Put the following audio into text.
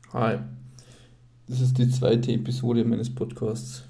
Hi, das ist die zweite Episode meines Podcasts.